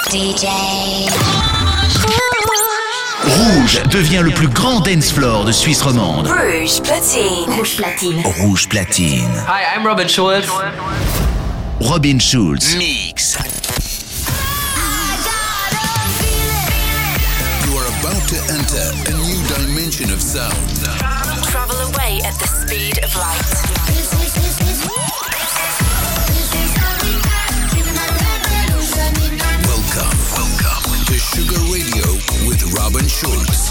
DJ. Rouge devient le plus grand dance floor de Suisse romande. Rouge Platine. Rouge Platine. Rouge Platine. Hi, I'm Robin Schulz. Robin Schulz. Mix. You are about to enter a new dimension of sound. Travel away at the speed of light. Welcome to Sugar Radio with Robin Schulz.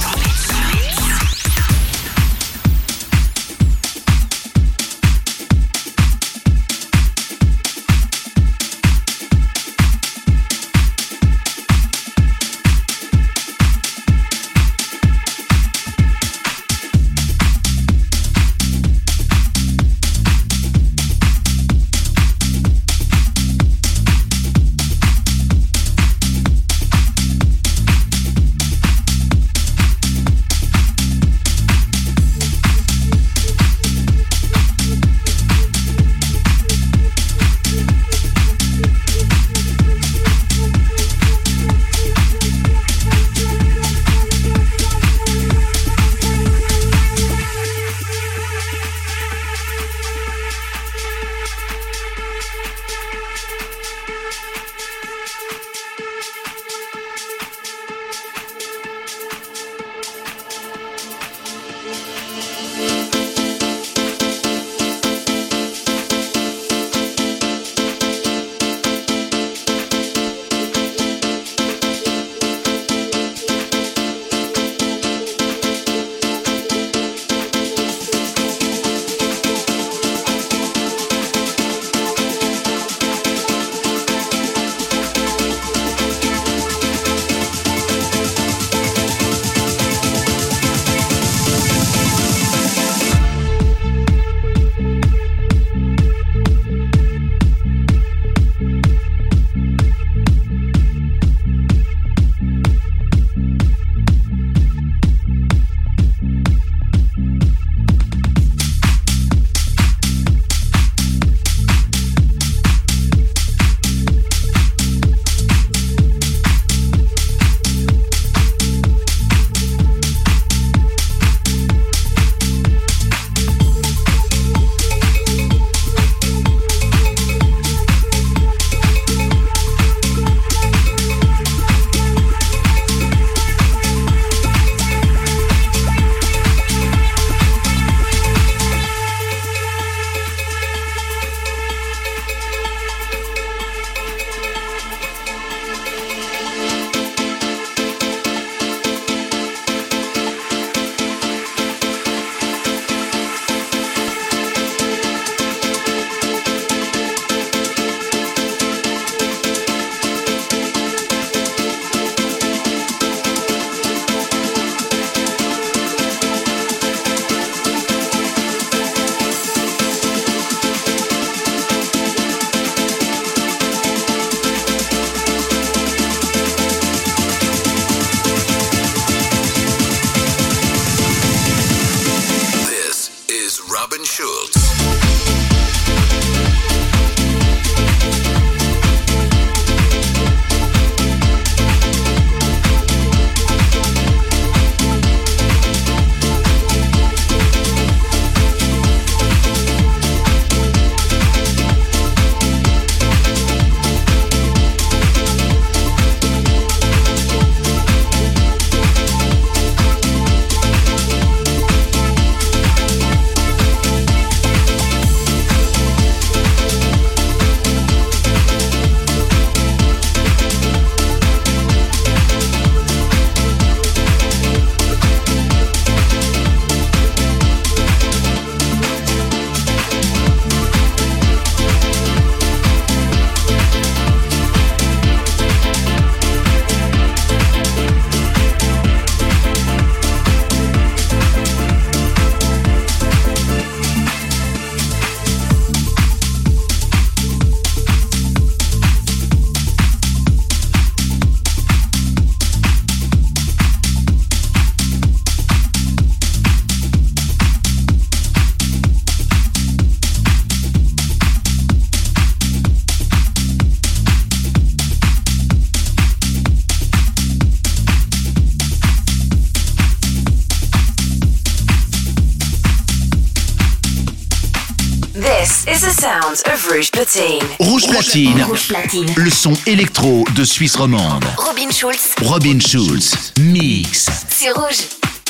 is the sound of Rouge Platine. Rouge Platine. Rouge Platine. Le son électro de Suisse romande. Robin Schulz. Robin Schulz. Mix. C'est Rouge.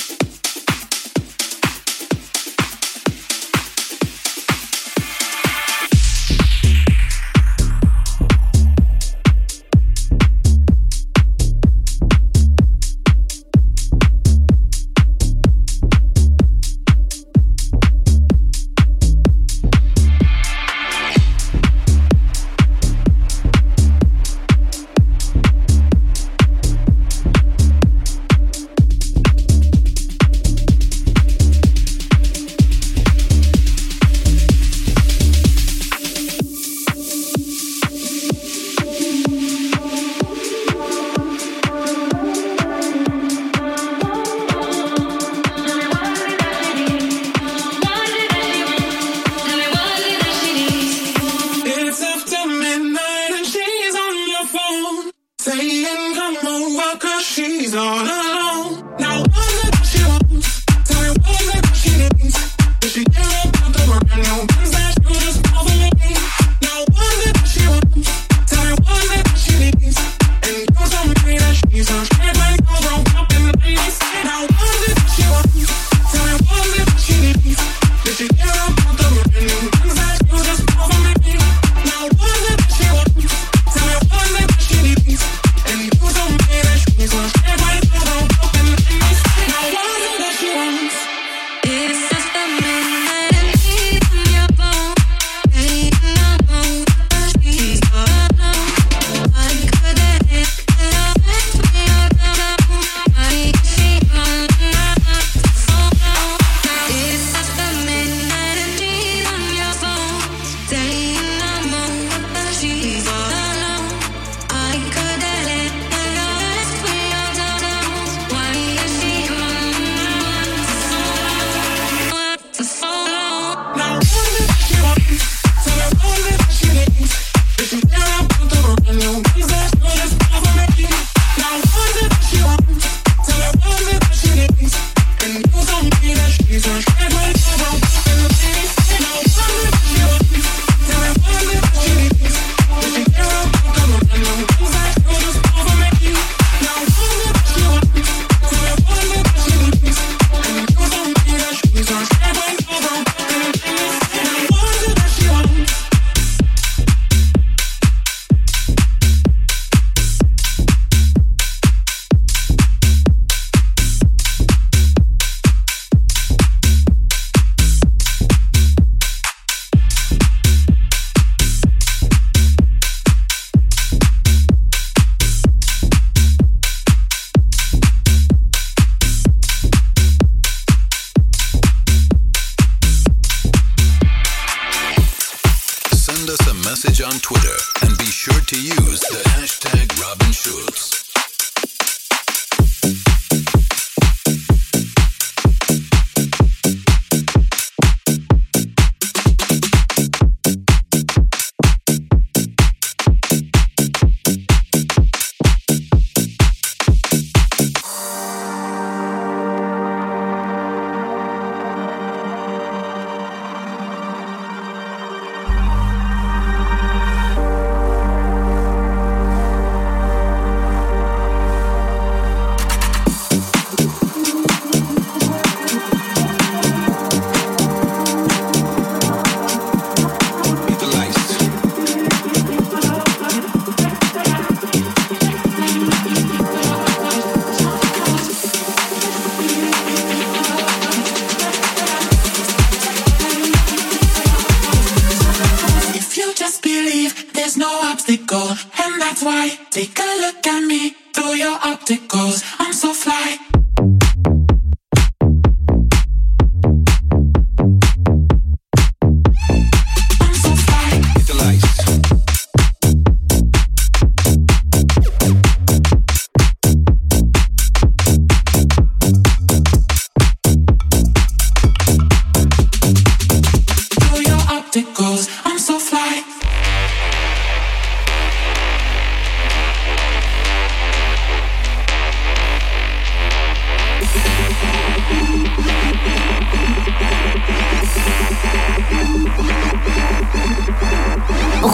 On Twitter and be sure to use the hashtag Robin Schulz.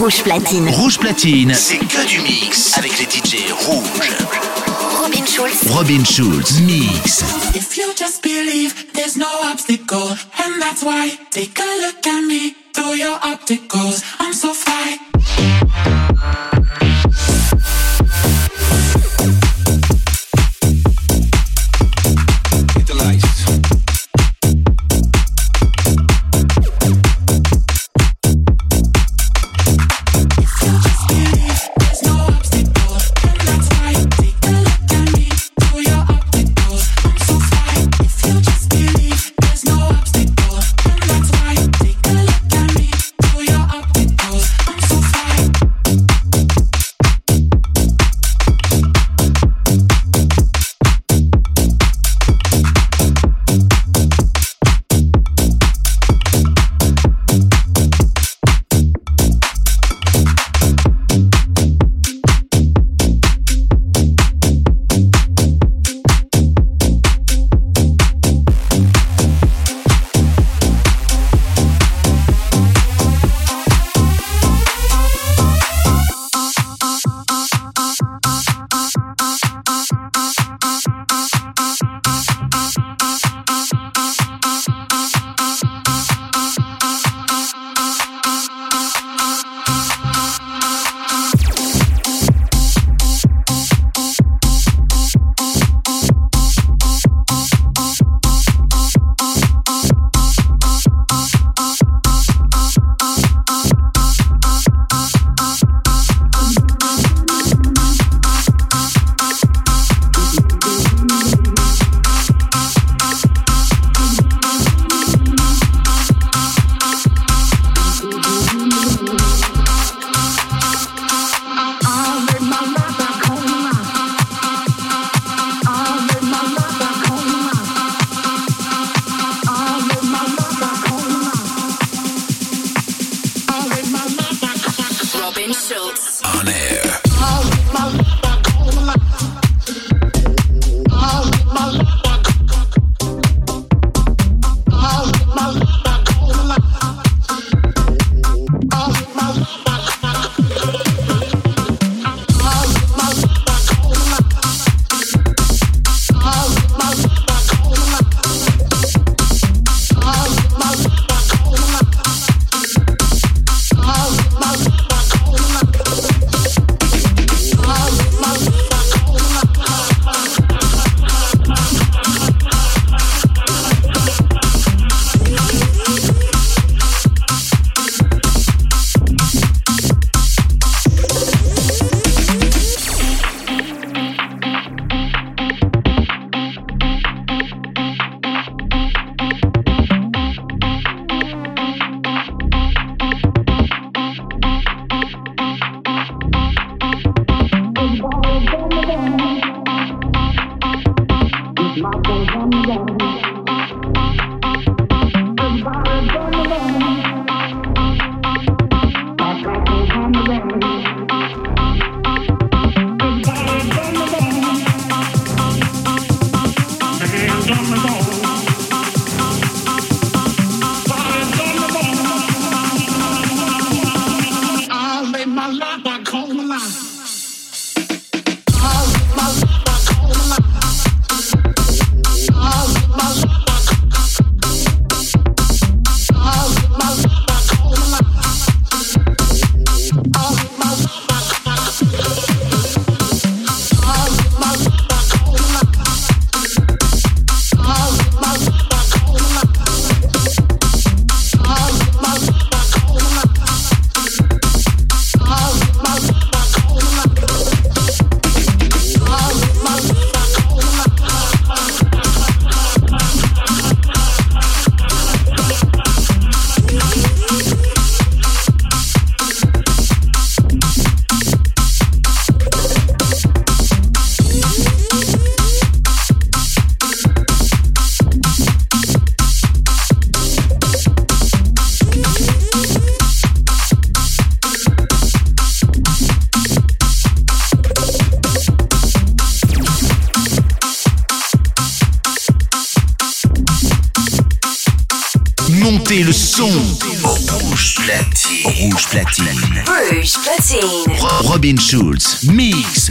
Rouge Platine. Rouge Platine, c'est que du mix avec les DJ rouges. Robin Schulz. Robin Schulz, mix. If you just believe there's no obstacle, and that's why, take a look at me through your opticals. I'm so fly. Montez le son. Rouge platine. Rouge platine. Rouge platine. Robin Schulz. Mix.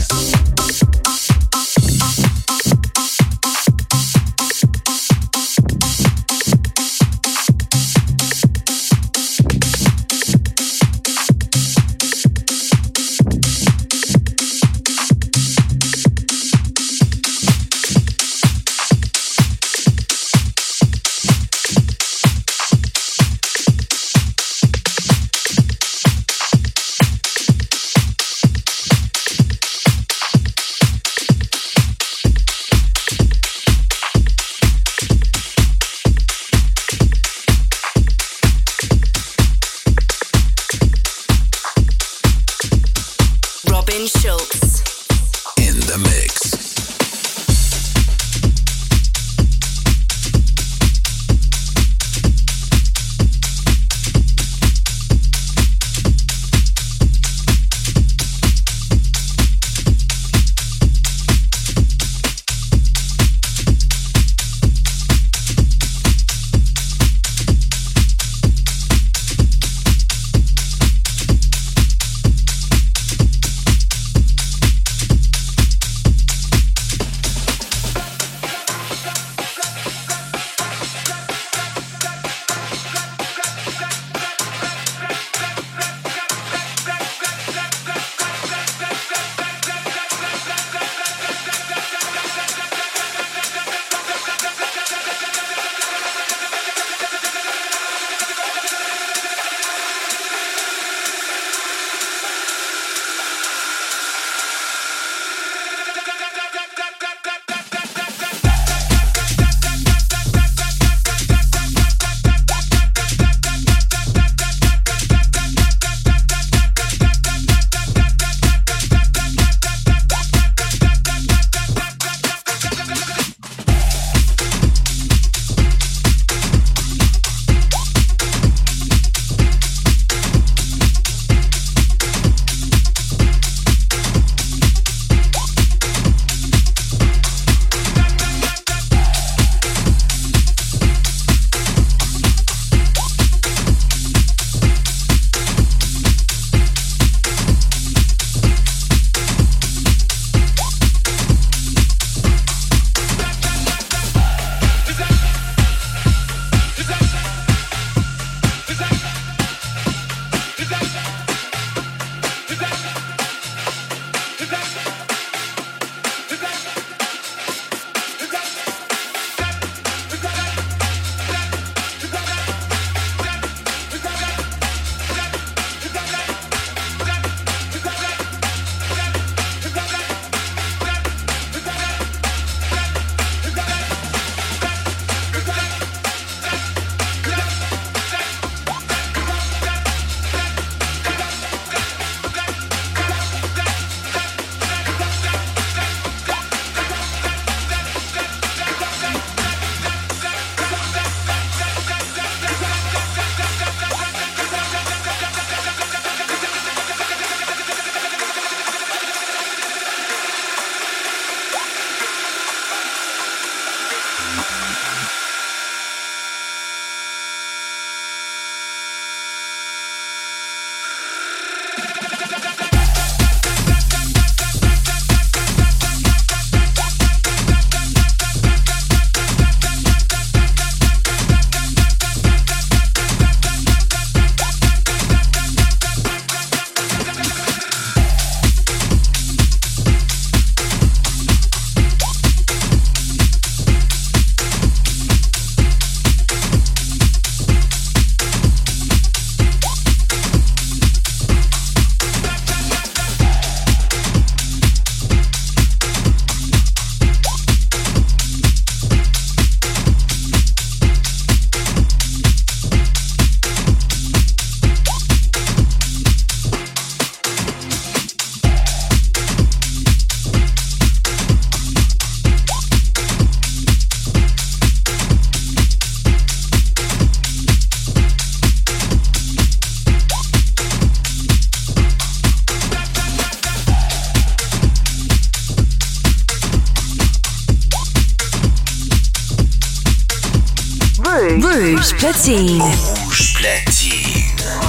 Rouge platine. Rouge platine.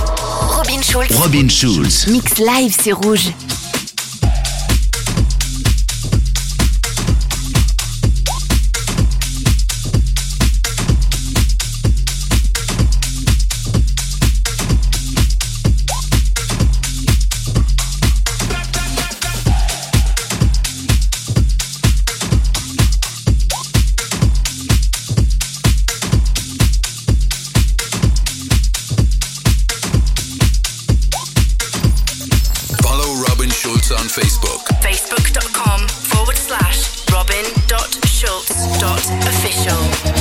Schulz. Robin Schulz. Mix live, c'est Rouge. On Facebook. Facebook.com/robin.schulz.official.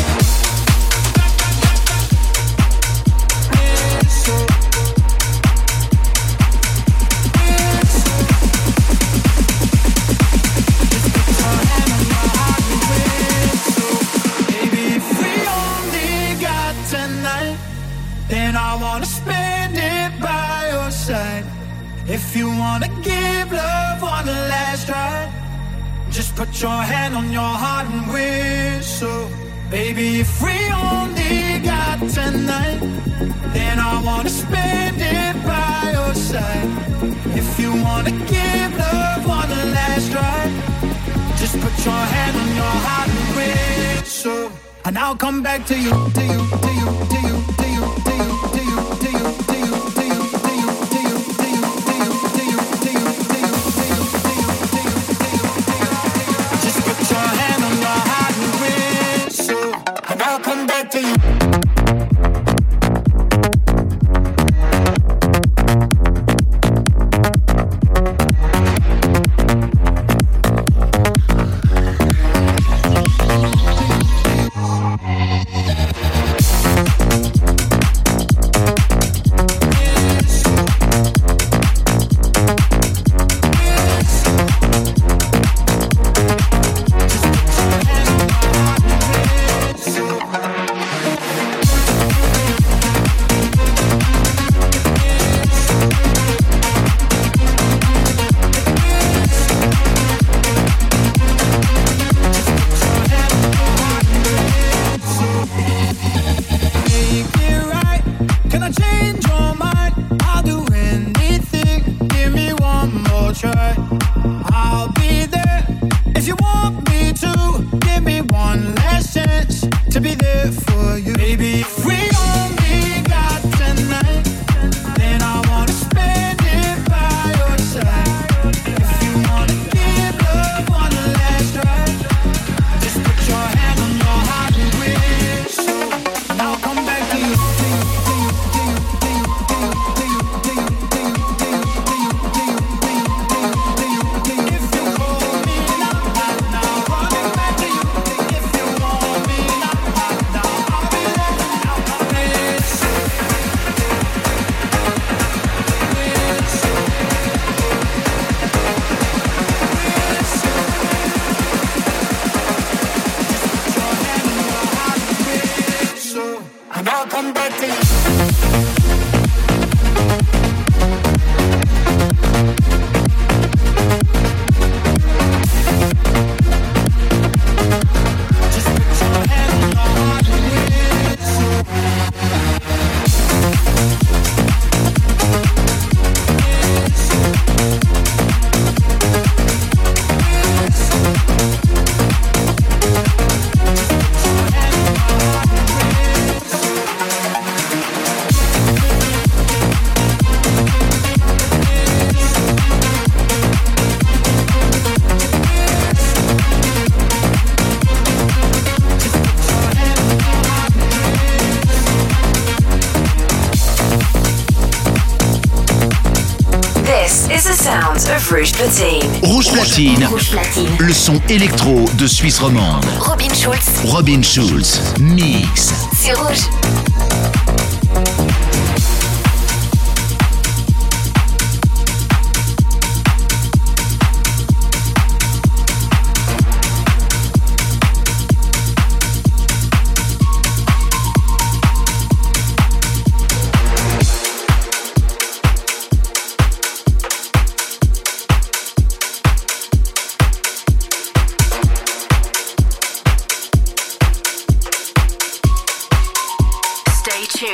Then I wanna spend it by your side. If you wanna give love one last try, just put your hand on your heart and whistle. Baby, if we only got tonight, then I wanna spend it by your side. If you wanna give love one last try, just put your hand on your heart and whistle. And I'll come back to you, to you, to you, to you, to you, to you, to you, to you, to you, to you, to you, to you, to you, to you, to you, to you, to you, to you, to you, to you. Just put your hand on your heart and whistle, and I'll come back to you. Rouge Platine. Rouge Platine. Rouge Platine. Le son électro de Suisse romande. Robin Schulz. Robin Schulz. Mix. C'est Rouge. Stay tuned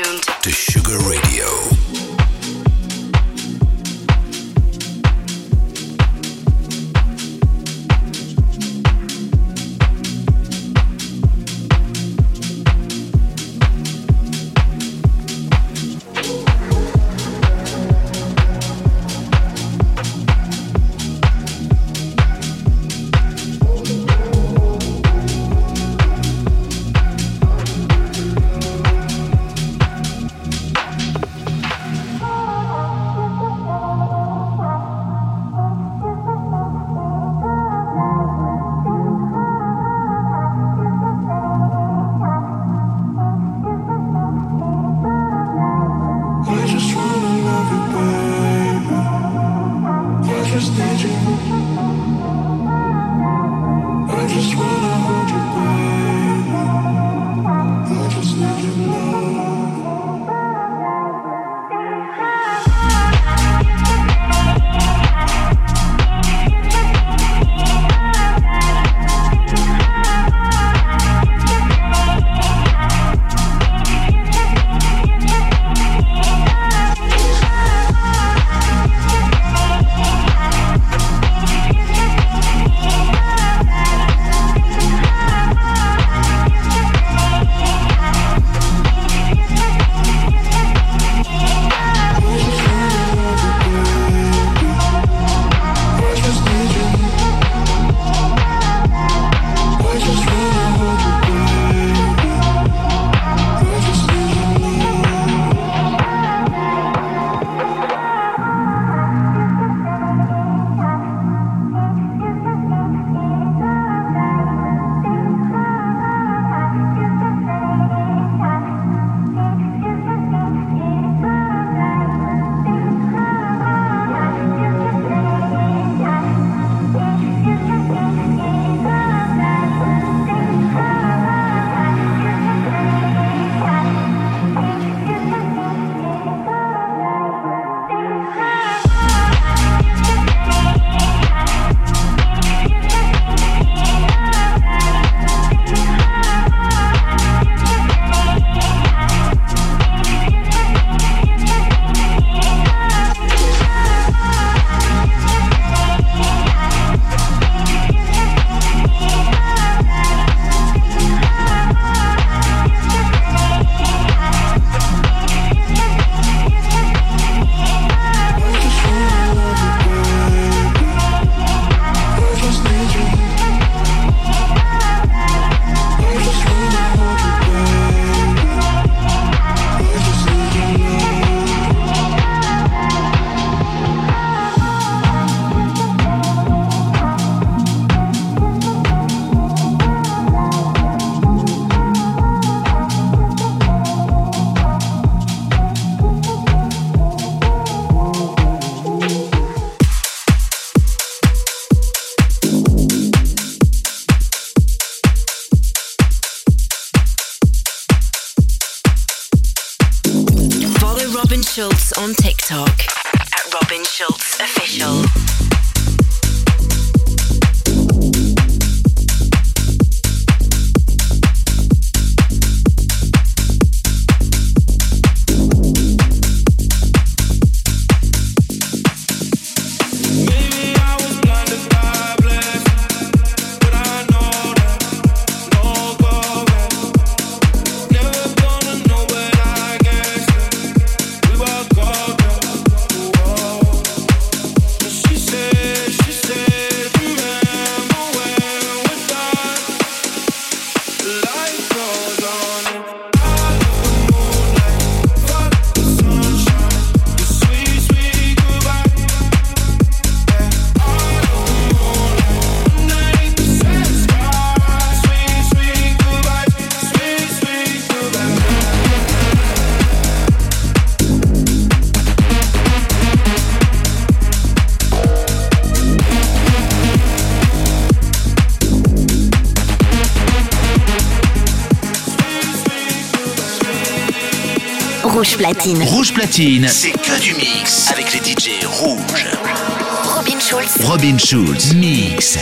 Schulz on TikTok at Robin Schulz Official. Rouge Platine. Rouge Platine, c'est que du mix avec les DJ rouges. Robin Schulz. Robin Schulz, mix.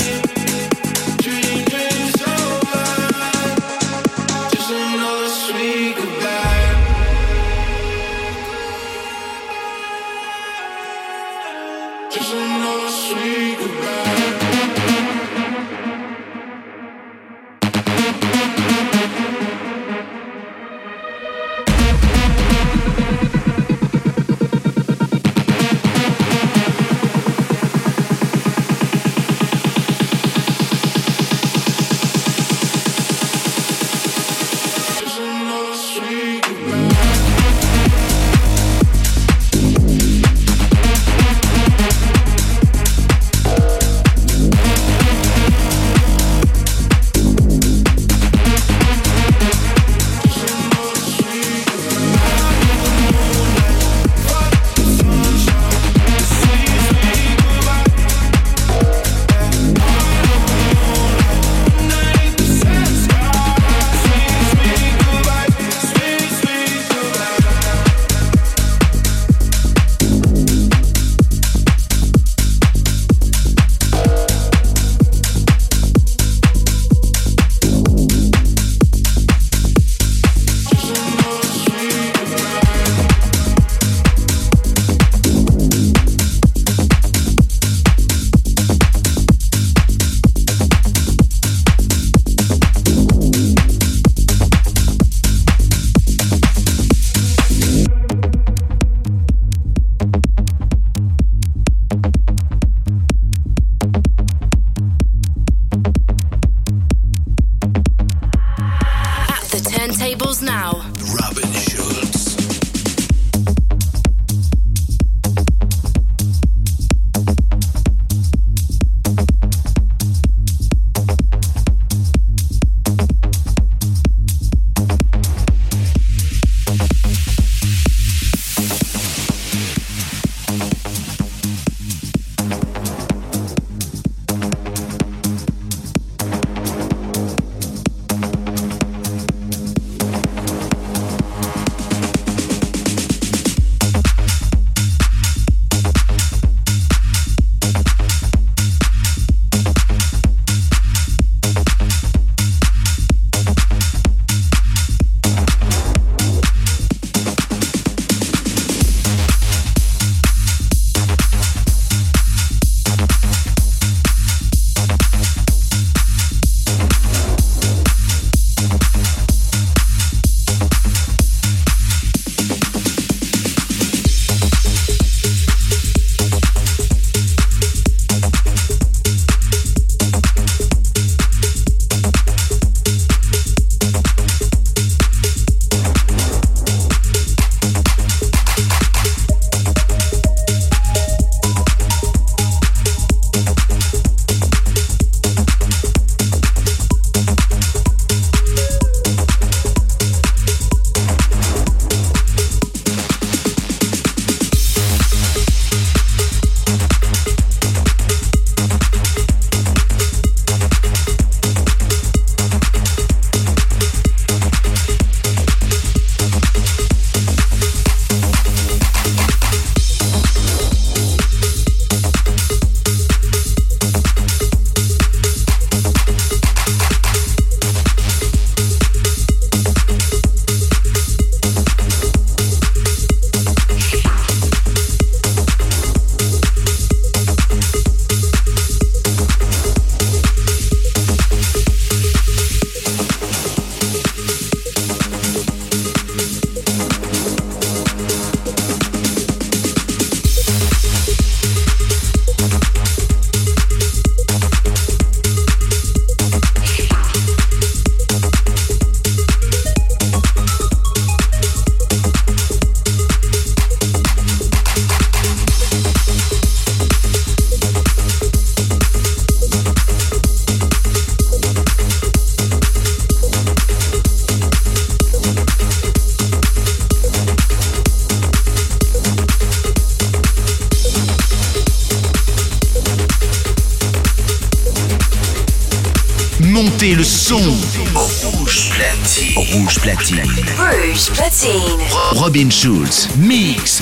Montez le son. Rouge platine. Rouge platine. Rouge platine. Robin Schulz. Mix.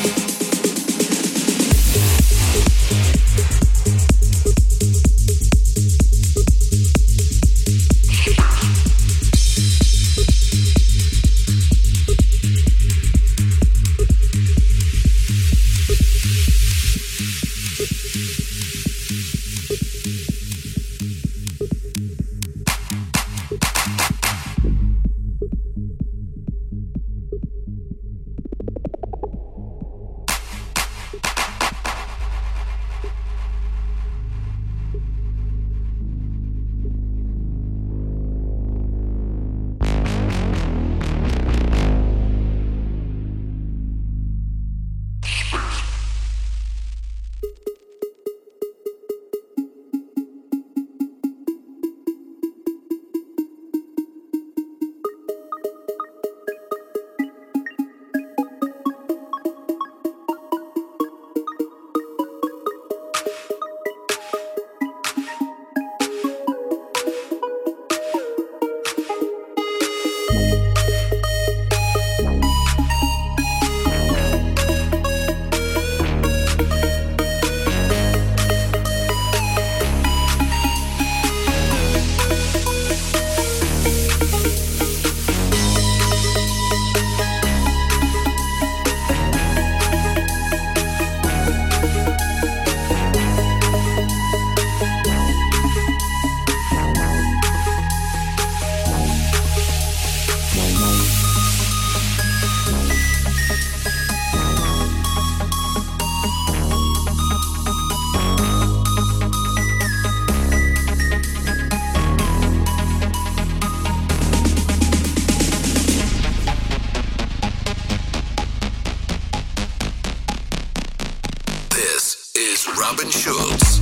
Robin Schulz.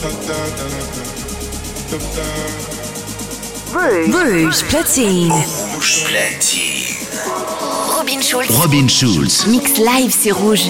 Rouge platine. Rouge platine. Robin Schulz. Robin Schulz. Mix live, c'est rouge.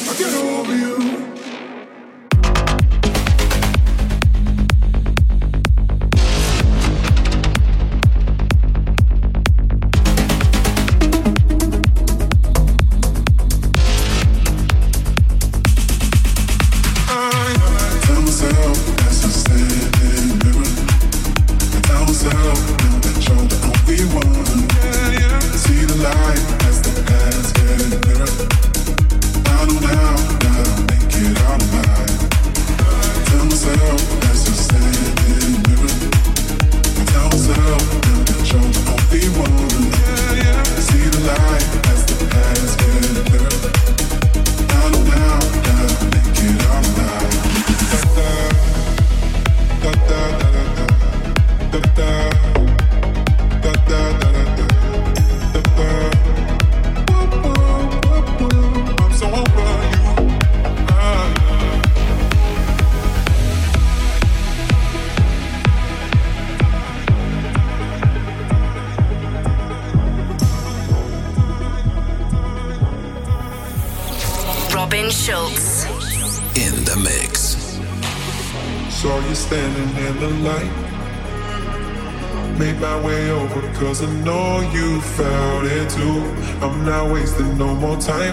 Robin Schulz. In the mix. Saw you standing in the light. Made my way over cause I know you felt it too. I'm not wasting no more time.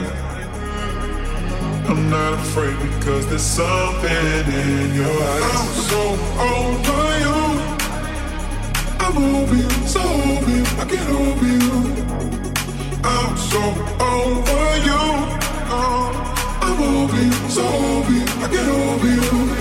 I'm not afraid because there's something in your eyes. I'm so over you. I'm over you, so over you, I get over you. I'm so over you. I'm over you, so over you, I get over you.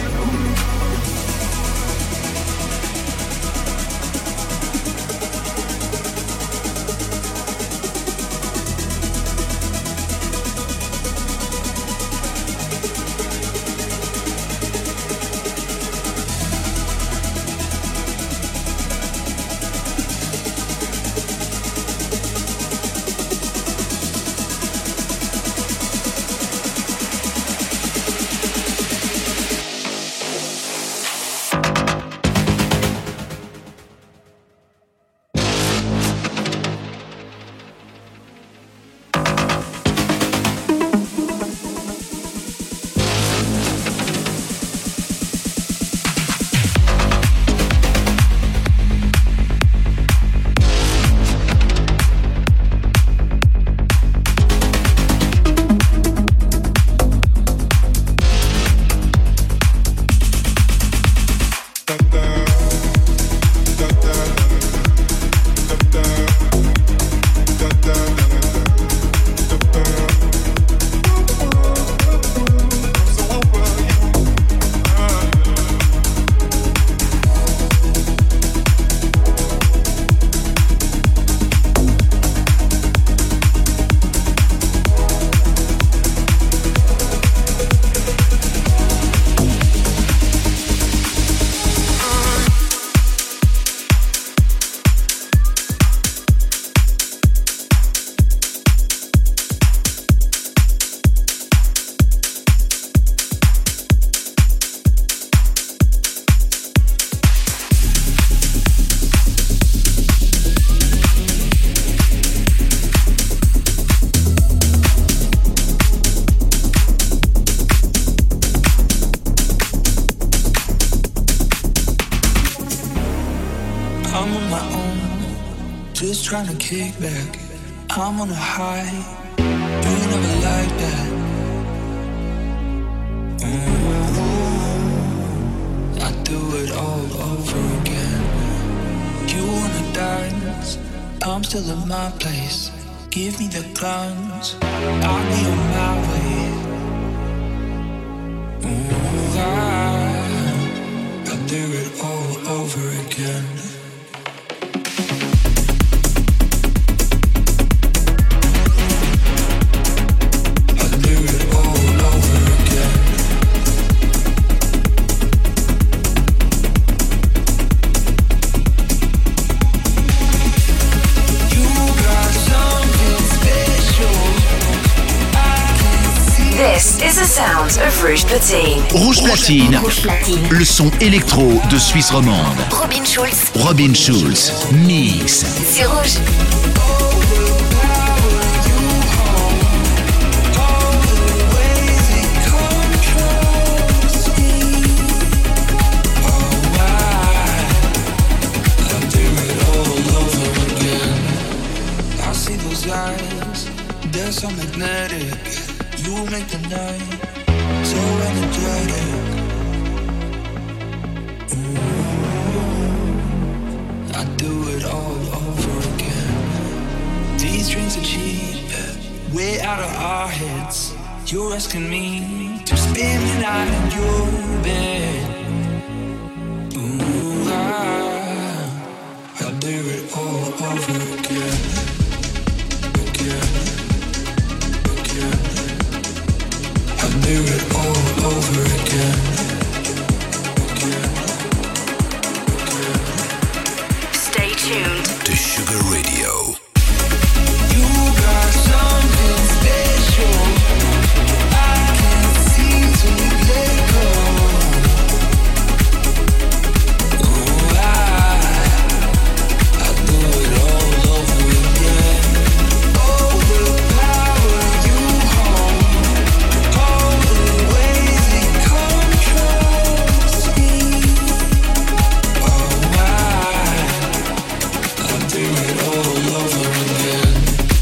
Trying to kick back, I'm on a high. You never like that. I do it all over again. You wanna dance? I'm still in my place. Give me the clowns. I'll be on my way. I do it all over again. This is a sounds of Rouge Platine. Rouge Platine. Le son électro de Suisse romande. Robin Schulz. Robin Schulz. Mix. C'est Rouge. They're so magnetic. You make the night so energetic. I do it all over again. These drinks are cheap, way out of our heads. You're asking me to spend the night in your bed. Ooh, I'll do it all over again. I'll do it all over again. Stay tuned to Sugar Radio. You got something special. I can't seem to let go. Oh, I'll do it all over again. Overpower you home. All the ways it controls me. Oh, I'll do it all over again.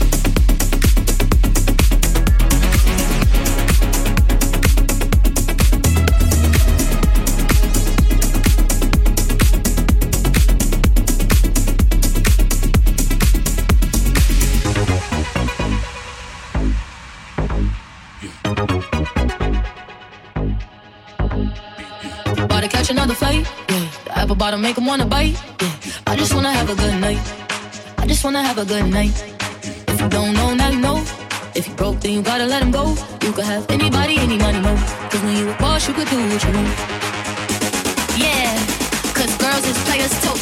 About to catch another fight, yeah. The apple bottom make him wanna bite, yeah. I just wanna have a good night. I just wanna have a good night. If you don't know, now you know. If you broke, then you gotta let him go. You could have anybody, any money, no. Cause when you a boss, you could do what you want. Yeah, cause girls is players too.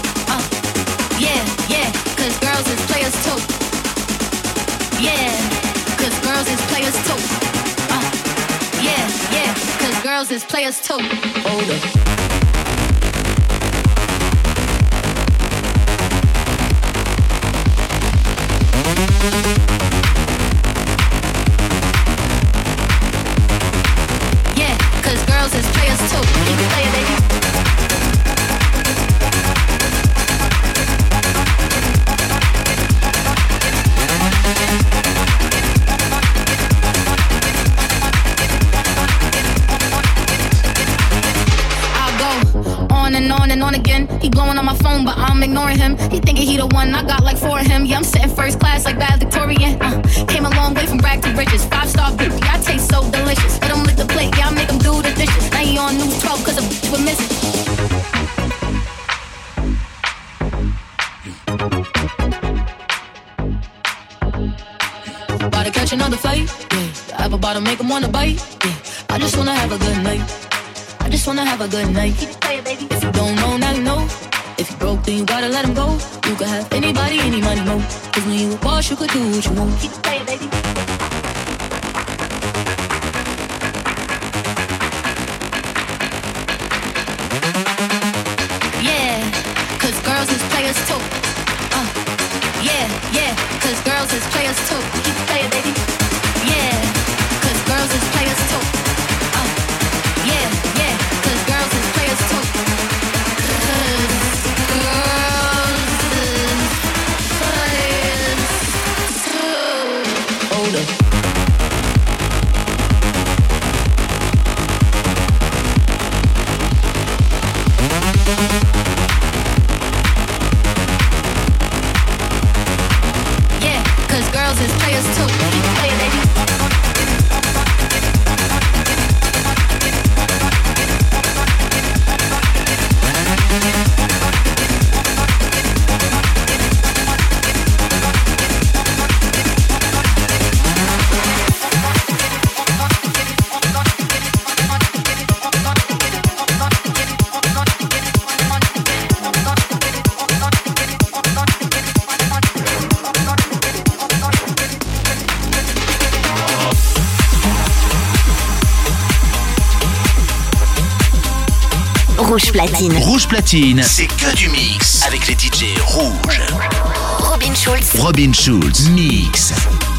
Yeah, cause girls is players too. Yeah, cause girls is players too. Yeah, cause girls is players too. Hold up. Yeah, cause girls is players too. You can play it, baby. On again, he blowing on my phone, but I'm ignoring him. He thinking he the one, I got like 4 of him. Yeah, I'm sitting first class like valedictorian. Came a long way from rag to riches. 5-star beauty, I taste so delicious. Let him lick the plate, yeah, I make him do the dishes. Now he on news 12 cause a bitch was missing. About to catch another fight, yeah. The apple bottom make him wanna bite, yeah. I just wanna have a good night. I just wanna have a good night. If you don't know, now you know. If you broke, then you gotta let him go. You could have anybody, any money, no. Cause when you a boss, you could do what you want. Keep it playing, baby. Yeah, cause girls is players too. Yeah, cause girls is players too. Keep it playing, baby. Yeah, cause girls is players too. Yeah, cause girls is players too. Hold up. Yeah, cause girls is players too. Keep playing, baby. Rouge Platine. Rouge Platine, c'est que du mix avec les DJ rouges. Robin Schulz. Robin Schulz, mix.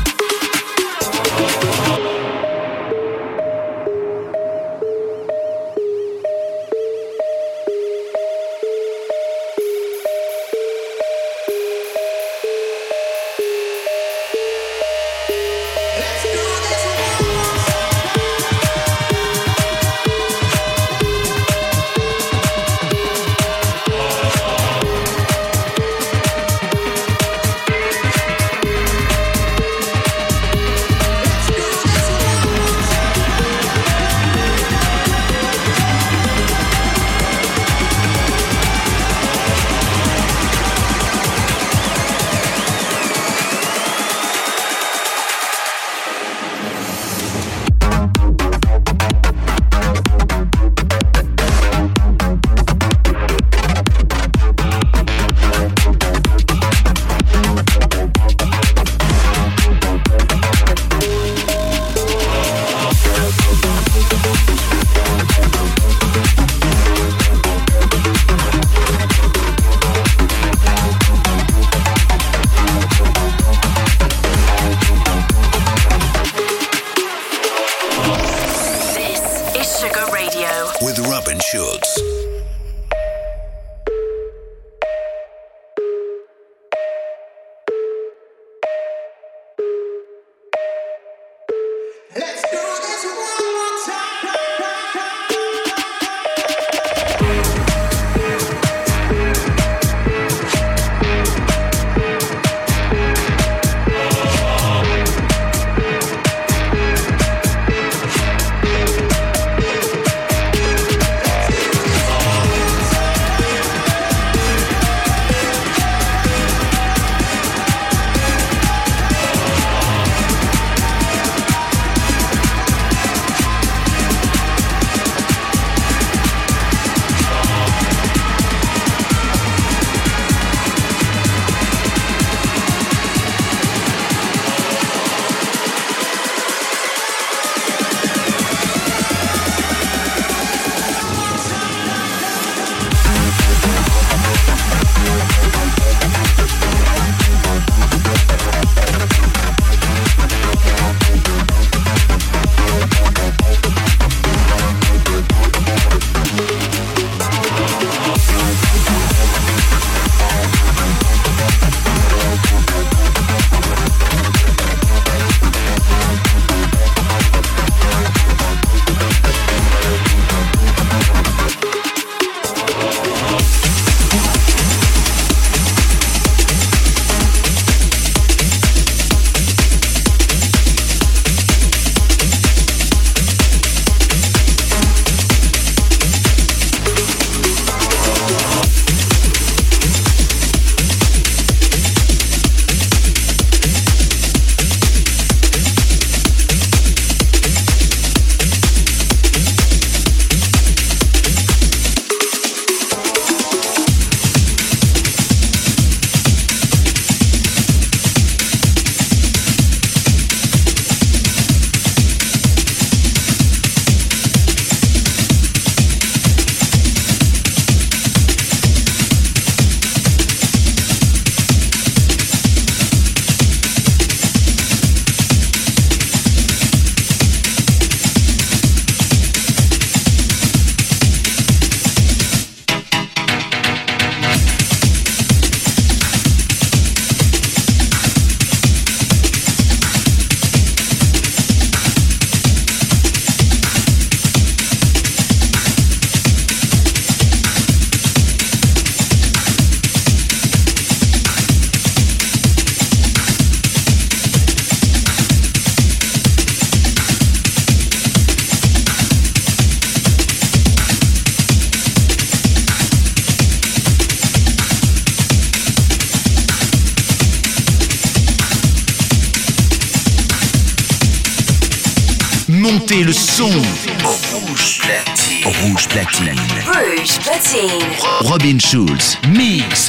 Montez le son. Rouge Platine. Rouge Platine. Rouge Platine. Robin Schulz. Mix.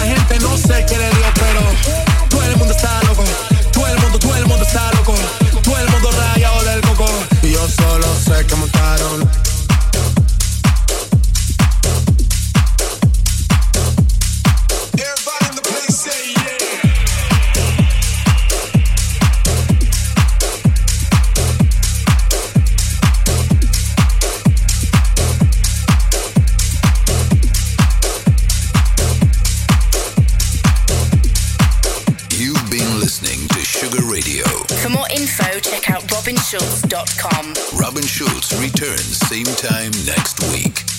la gente no sé qué le dio, pero todo el mundo está loco. Todo el mundo está loco. Todo el mundo rayado del coco. Y yo solo sé que montaron. Everybody in the place say yeah. Radio. For more info, check out robinschulz.com. Robin Schulz returns same time next week.